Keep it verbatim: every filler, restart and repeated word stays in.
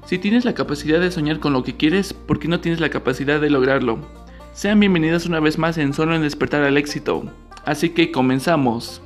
Si tienes la capacidad de soñar con lo que quieres, ¿por qué no tienes la capacidad de lograrlo? Sean bienvenidos una vez más en Solo en Despertar al Éxito. Así que comenzamos.